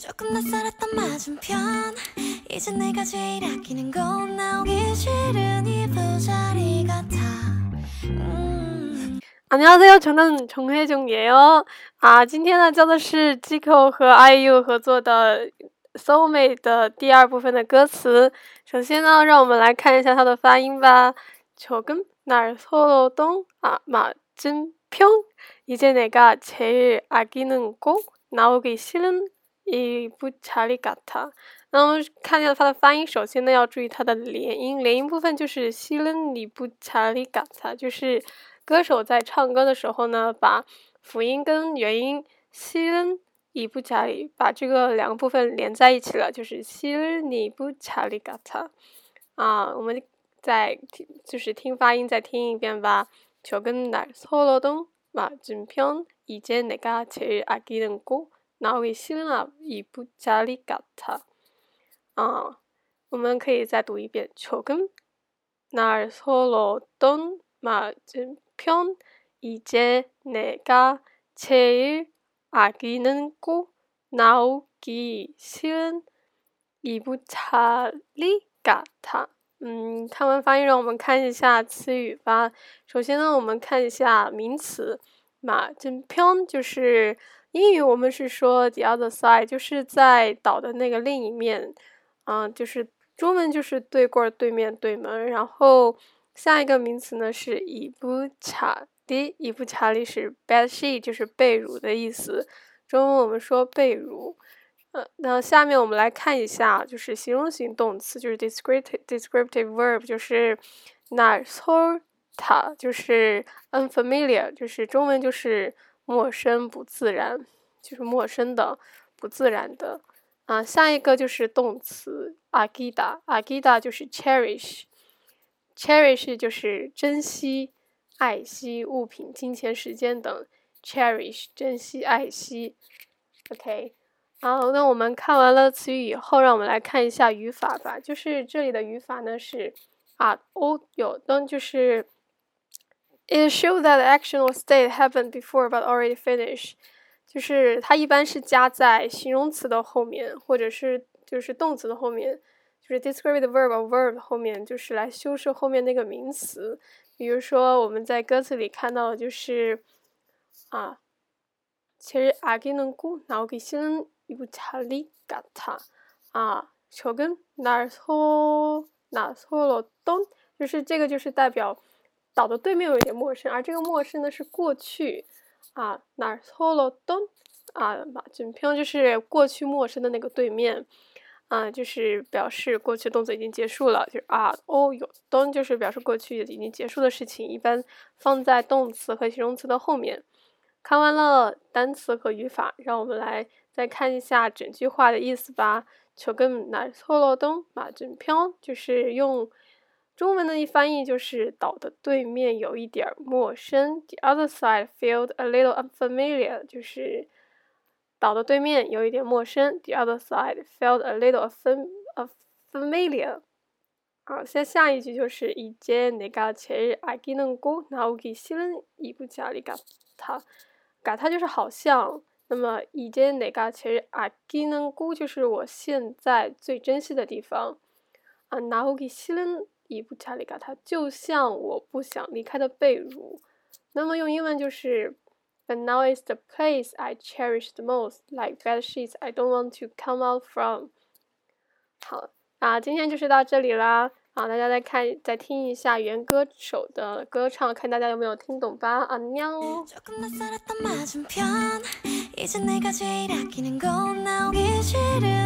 조금 낯설었던 맞은편 이제 내가 제일 아끼는 건 나오기 싫은 이 부자리 같아 안녕하세요， 저는 정혜정예요。今天呢教的是 Zico 和 IU 合作的 Soulmate 的第二部分的歌词。首先呢，让我们来看一下它的发音吧。조금 날 서로동 맞은편 이제 내가 제일 아끼는 곡 나오기 싫은 이 부자리 같아。那我们看一下它的发音，首先呢要注意它的连音，连音部分就是싫은 이 부자리 같아，就是歌手在唱歌的时候呢，把辅音跟元音싫은 이 부자리把这个两个部分连在一起了，就是싫은 이 부자리 같아。我们再就是听发音再听一遍吧。조금 날 서로동 맞은편 이제 내가 제일 아끼는 곡 나오기 싫은 이 부자리 같아。我们可以再读一遍。조금 날 서로동 맞은편 이제 내가 제일 아끼는 곡 나오기 싫은 이 부자리 같아。看完发音，让我们看一下词语吧。首先呢，我们看一下名词。맞은편就是英语我们是说 the other side， 就是在岛的那个另一面。就是中文就是对过对面对门。然后下一个名词呢是이 부자리，이 부자리是 bed sheet， 就是被褥的意思。中文我们说被褥。那下面我们来看一下，就是形容型动词，就是 descriptive verb， 就是날 서다， 就是 unfamiliar， 就是中文就是陌生不自然，就是陌生的不自然的。下一个就是动词아끼다就是 cherish 就是珍惜爱惜物品金钱时间等 cherish 珍惜爱惜。 OK， 好，那我们看完了词语以后，让我们来看一下语法吧。就是这里的语法呢是有的就是 it shows that the action or state happened before but already finished， 就是它一般是加在形容词的后面，或者是就是动词的后面，就是 descriptive verb or verb 后面，就是来修饰后面那个名词。比如说我们在歌词里看到的就是제일 아끼는 곡 나오기 싫은 이 부자리 같아。조금 날 서로던，就是这个就是代表岛的对面有一点陌生，而这个陌生呢是过去。날 서로던 맞은편就是过去陌生的那个对面。就是表示过去动作已经结束了，就是有don就是表示过去已经结束的事情，一般放在动词和形容词的后面。看完了单词和语法，让我们来再看一下整句话的意思吧。조금 날 서로동 맞은편就是用中文的一翻译就是岛的对面有一点陌生。The other side felt a little unfamiliar， 就是岛的对面有一点陌生。The other side felt a little familiar。下一句就是이제 내가 제일 아끼는 곡 나오기 싫은 이 부자리 같아。같아就是好像，那么이제 내가 제일 아끼는 곡就是我现在最珍惜的地方。나오기 싫은 이 부자리 같아就像我不想离开的被褥。那么用英文就是But now is the place I cherish the most, like bed sheets I don't want to come out from。 好，今天就是到这里啦。大家再听一下原歌手的歌唱，看大家有没有听懂吧。안녕。 조금 낯설었던 맞은편 이제 내가 제일 아끼는 건 나오기 싫은